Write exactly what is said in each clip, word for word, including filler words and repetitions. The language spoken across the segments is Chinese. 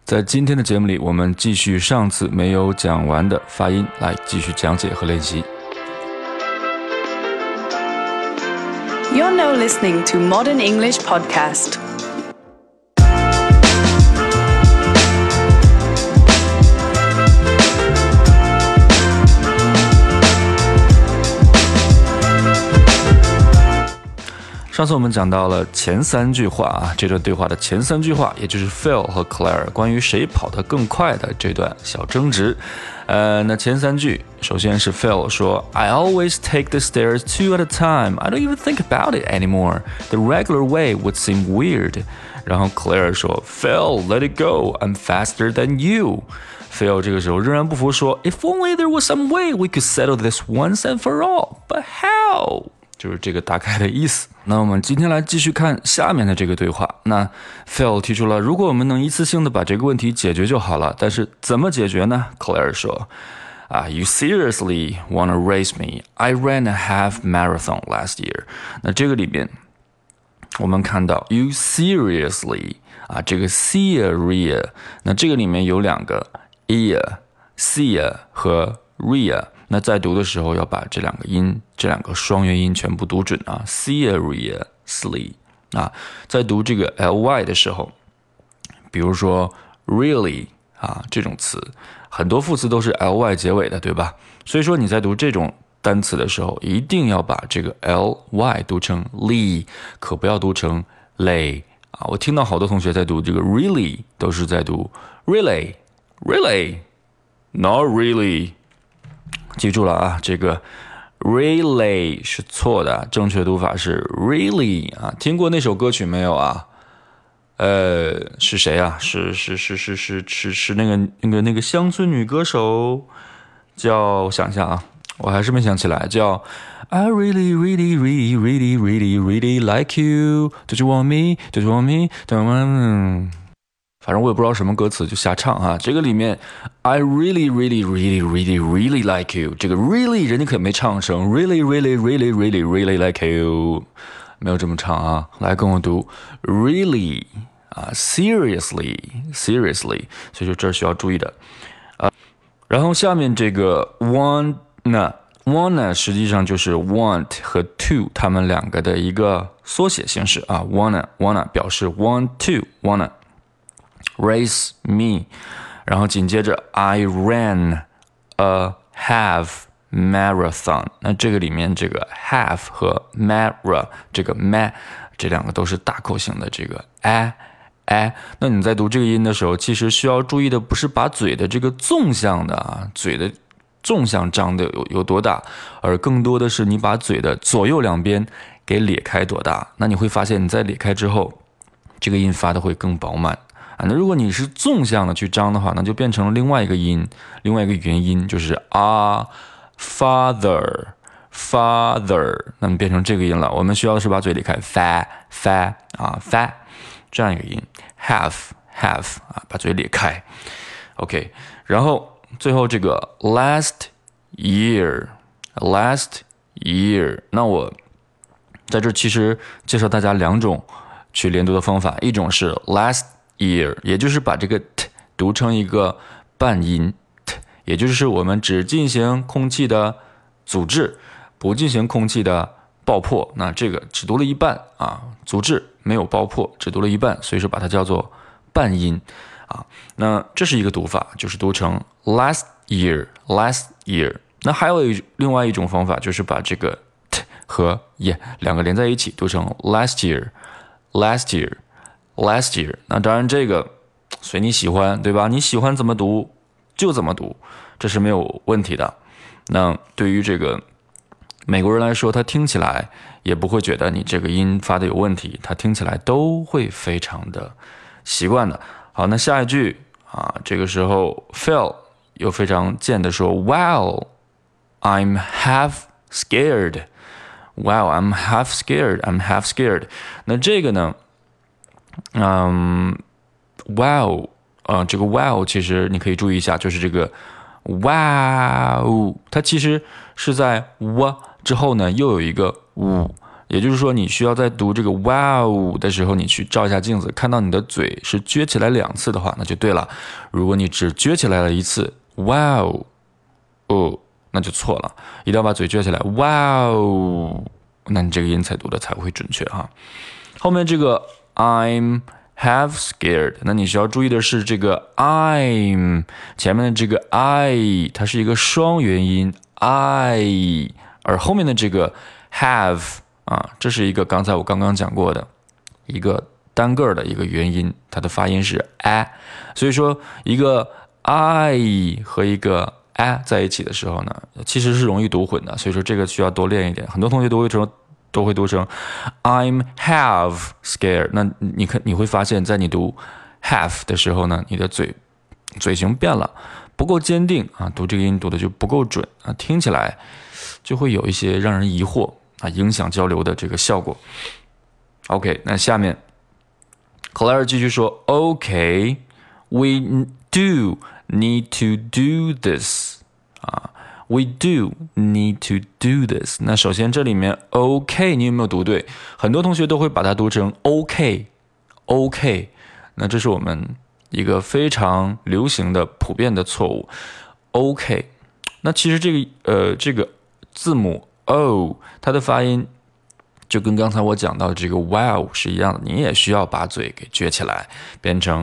在今天的节目里，我们继续上次没有讲完的发音，来继续讲解和练习。 You're now listening to Modern English Podcast. 上次我们讲到了前三句话啊，这段对话的前三句话，也就是 Phil 和 Claire 关于谁跑得更快的这段小争执。呃，那前三句，首先是 Phil 说 I always take the stairs two at a time. I don't even think about it anymore. The regular way would seem weird. 然后 Claire 说 Phil, let it go. I'm faster than you. Phil 这个时候仍然不服说 If only there was some way we could settle this once and for all. But how?就是这个大概的意思。那我们今天来继续看下面的这个对话。那 Phil 提出了，如果我们能一次性的把这个问题解决就好了，但是怎么解决呢？ Claire 说啊 You seriously wanna race me? I ran a half marathon last year. 那这个里面我们看到 You seriously 啊，这个 see-a-ria， 那这个里面有两个 ear、see 和 ria。那在读的时候要把这两个音，这两个双元音全部读准啊 seriously 啊，在读这个 ly 的时候，比如说 really 啊这种词，很多副词都是 ly 结尾的，对吧？所以说你在读这种单词的时候，一定要把这个 ly 读成 ly， 可不要读成 lay 啊。我听到好多同学在读这个 really 都是在读 really really not really。记住了啊，这个 really 是错的，正确读法是 really 啊。听过那首歌曲没有啊？呃，是谁啊？是是是是是是是那个那个那个乡村女歌手，叫我想一下啊，我还是没想起来，叫 I really really really really really really like you. Don't you want me? Don't you want me? Don't you want me?反正我也不知道什么歌词就瞎唱啊。这个里面 I really really really really really like you， 这个 really 人家可没唱成 really really really really really like you， 没有这么唱啊。来跟我读 really 啊 seriously seriously， 所以说这儿需要注意的啊。然后下面这个 wanna wanna 实际上就是 want 和 to 他们两个的一个缩写形式啊。wanna wanna 表示 want to wanna race me， 然后紧接着 I ran a half marathon。 那这个里面这个 half 和 mara 这个 ma 这两个都是大口型的这个 a a。 那你在读这个音的时候，其实需要注意的不是把嘴的这个纵向的啊，嘴的纵向张的有有多大，而更多的是你把嘴的左右两边给咧开多大。那你会发现你在咧开之后，这个音发的会更饱满。那如果你是纵向的去张的话，那就变成了另外一个音，另外一个元音，就是啊 father father， 那么变成这个音了。我们需要的是把嘴咧开 fa fa 啊 fa 这样一个音 have have 啊，把嘴咧开 OK。 然后最后这个 last year last year， 那我在这其实介绍大家两种去连读的方法，一种是 last year， 也就是把这个 t 读成一个半音 t， 也就是我们只进行空气的阻滞，不进行空气的爆破。那这个只读了一半啊，阻滞没有爆破，只读了一半，所以说把它叫做半音啊。那这是一个读法，就是读成 last year last year。 那还有一另外一种方法，就是把这个 t 和 ye 两个连在一起，读成 last year last year last year。 那当然这个随你喜欢，对吧？你喜欢怎么读就怎么读，这是没有问题的。那对于这个美国人来说，他听起来也不会觉得你这个音发的有问题，他听起来都会非常的习惯的。好，那下一句啊，这个时候 Phil 又非常贱的说 Wow I'm half scared Wow I'm half scared I'm half scared。 那这个呢嗯 wow 呃，这个 wow 其实你可以注意一下，就是这个 wow 它其实是在 w 之后呢又有一个 u， 也就是说，你需要在读这个 wow 的时候，你去照一下镜子，看到你的嘴是撅起来两次的话，那就对了。如果你只撅起来了一次 wow 哦，那就错了，一定要把嘴撅起来 wow， 那你这个音才读的才会准确哈。后面这个 I'm have scared， 那你需要注意的是这个 I'm 前面的这个 I 它是一个双元音 I， 而后面的这个 have 啊，这是一个刚才我刚刚讲过的一个单个的一个元音，它的发音是 a， 所以说一个 I 和一个 a 在一起的时候呢，其实是容易读混的，所以说这个需要多练一点。很多同学都会成都会读成 I'm have scared， 那你看你会发现在你读 have 的时候呢，你的嘴嘴型变了，不够坚定啊，读这个音读的就不够准啊，听起来就会有一些让人疑惑啊，影响交流的这个效果。OK， 那下面 Claire 继续说 OK we do need to do this 啊We do need to do this。 那首先这里面 OK 你有没有读对？很多同学都会把它读成 OK OK， 那这是我们一个非常流行的普遍的错误 OK。 那其实这个呃这个字母 O 它的发音就跟刚才我讲到的这个 wow 是一样的，你也需要把嘴给撅起来变成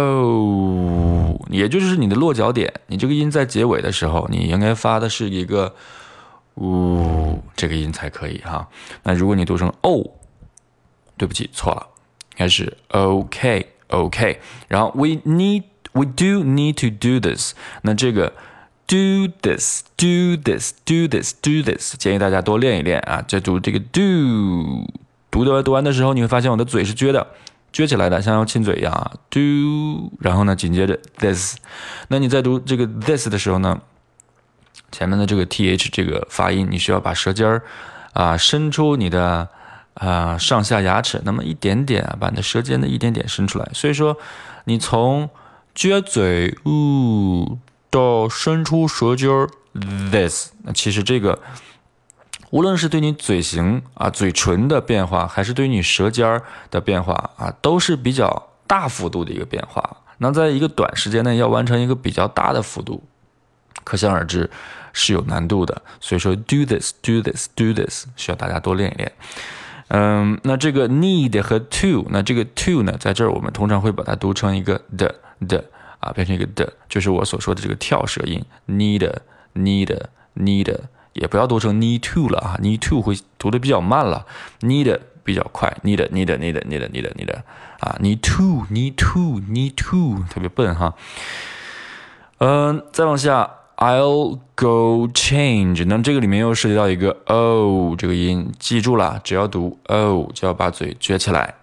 o， 也就是你的落脚点，你这个音在结尾的时候你应该发的是一个呜、这个音才可以哈。那如果你读成 o， 对不起错了，应该是 ok ok， 然后 we need we do need to do this， 那这个Do this, do this, do this, do this， 建议大家多练一练啊！在读这个 do， 读的读完的时候，你会发现我的嘴是撅的，撅起来的，像要亲嘴一样啊。do， 然后呢，紧接着 this。那你在读这个 this 的时候呢，前面的这个 th 这个发音，你需要把舌尖儿啊伸出你的啊上下牙齿，那么一点点啊，把你的舌尖的一点点伸出来。所以说，你从撅嘴，呜。到伸出舌尖 this， 那其实这个无论是对你嘴型啊嘴唇的变化，还是对于你舌尖的变化啊，都是比较大幅度的一个变化。那在一个短时间内要完成一个比较大的幅度，可想而知是有难度的。所以说 do this do this do this 需要大家多练一练。嗯，那这个 need 和 to， 那这个 to 呢，在这儿我们通常会把它读成一个的的。啊，变成一个的，就是我所说的这个跳舌音 need need need， 也不要读成 need to 了啊 need to 会读的比较慢了 need 比较快 need need need need need need 啊 need to need to need to 特别笨哈。嗯、呃，再往下 I'll go change， 那这个里面又涉及到一个 o 这个音，记住了，只要读 o 就要把嘴撅起来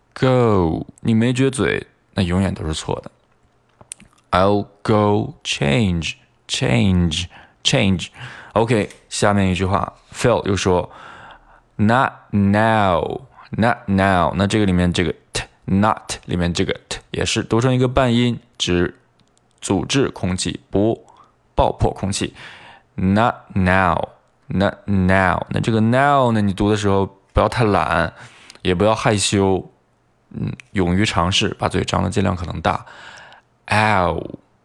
go， 你没撅嘴那永远都是错的。I'll go change, change, change. OK， 下面一句话 Phil 又说 Not now, not now。 那这个里面这个 t not 里面这个 t 也是读成一个半音，指阻滞空气，不爆破空气。Not now, not now。 那这个 now 呢，你读的时候不要太懒，也不要害羞，嗯，勇于尝试，把嘴张的尽量可能大。ow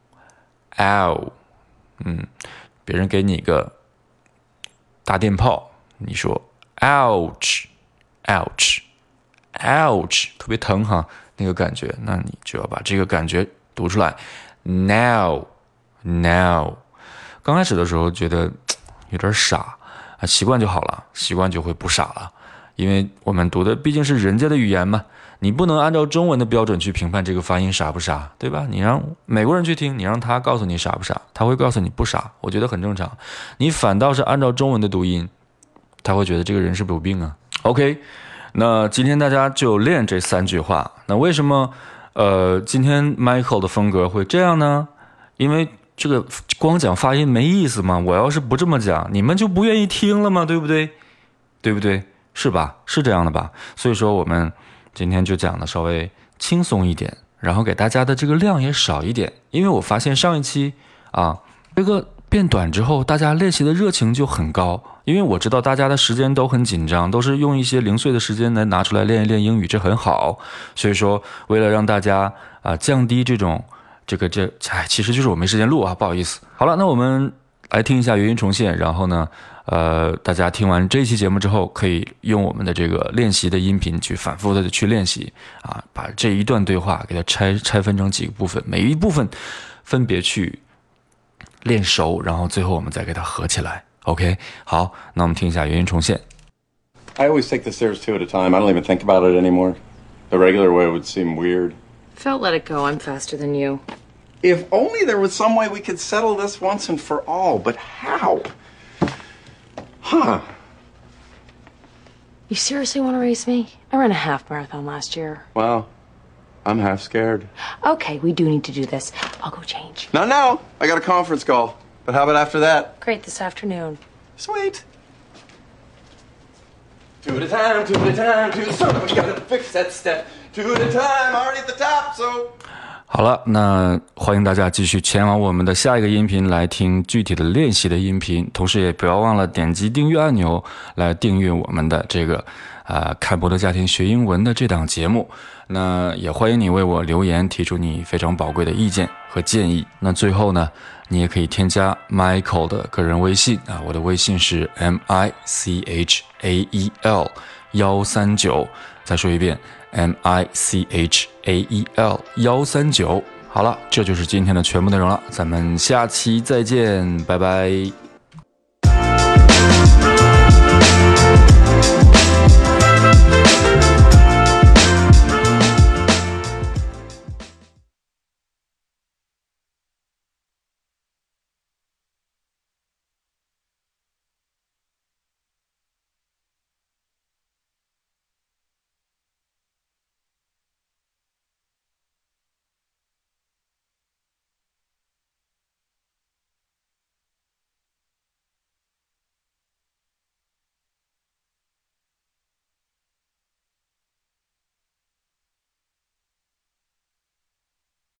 ow， 嗯，别人给你一个大电炮，你说 ouch ouch ouch， 特别疼哈，那个感觉，那你就要把这个感觉读出来。now now， 刚开始的时候觉得有点傻啊，习惯就好了，习惯就会不傻了，因为我们读的毕竟是人家的语言嘛。你不能按照中文的标准去评判这个发音傻不傻，对吧？你让美国人去听，你让他告诉你傻不傻，他会告诉你不傻，我觉得很正常。你反倒是按照中文的读音，他会觉得这个人是不是有病啊 ？OK， 那今天大家就练这三句话。那为什么呃今天 Michael 的风格会这样呢？因为这个光讲发音没意思嘛，我要是不这么讲，你们就不愿意听了嘛，对不对？对不对？是吧？是这样的吧？所以说我们今天就讲的稍微轻松一点，然后给大家的这个量也少一点，因为我发现上一期啊，这个变短之后，大家练习的热情就很高。因为我知道大家的时间都很紧张，都是用一些零碎的时间来拿出来练一练英语，这很好。所以说，为了让大家啊、呃、降低这种这个这，哎，其实就是我没时间录啊，不好意思。好了，那我们来听一下原音重现，然后呢，呃，大家听完这一期节目之后，可以用我们的这个练习的音频去反复的去练习啊，把这一段对话给它拆拆分成几个部分，每一部分分别去练熟，然后最后我们再给它合起来。OK， 好，那我们听一下原音重现。 I always take the stairs two at a time. I don't even think about it anymore. The regular way would seem weird. Phil, let it go. I'm faster than you. If only there was some way we could settle this once and for all, but how? Huh. You seriously want to race me? I ran a half marathon last year. Well, I'm half scared. Okay, we do need to do this. I'll go change. No, no. I got a conference call. But how about after that? Great, this afternoon. Sweet. Two at a time, two at a time, two at a time. We gotta fix that step. Two at a time, already at the top, so... 好了，那欢迎大家继续前往我们的下一个音频来听具体的练习的音频，同时也不要忘了点击订阅按钮来订阅我们的这个呃看博的家庭学英文的这档节目。那也欢迎你为我留言，提出你非常宝贵的意见和建议。那最后呢，你也可以添加 Michael 的个人微信啊，我的微信是 M I C H A E L 一三九，再说一遍 M I C H A E L 一三九。好了，这就是今天的全部内容了，咱们下期再见，拜拜。